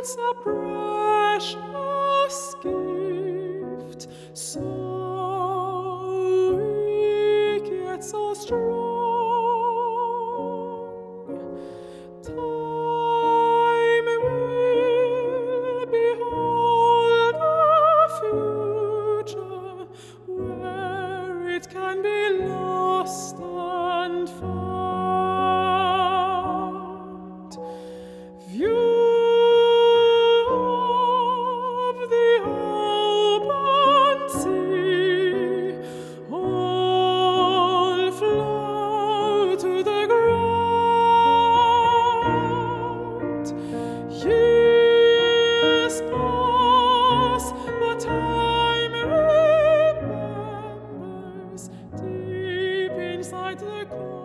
holds a precious gift, so weak yet so strong. Time will behold a future where it can be lost and found. View of the open sea, all flow to the ground. Years pass, but time remembers deep inside the ground.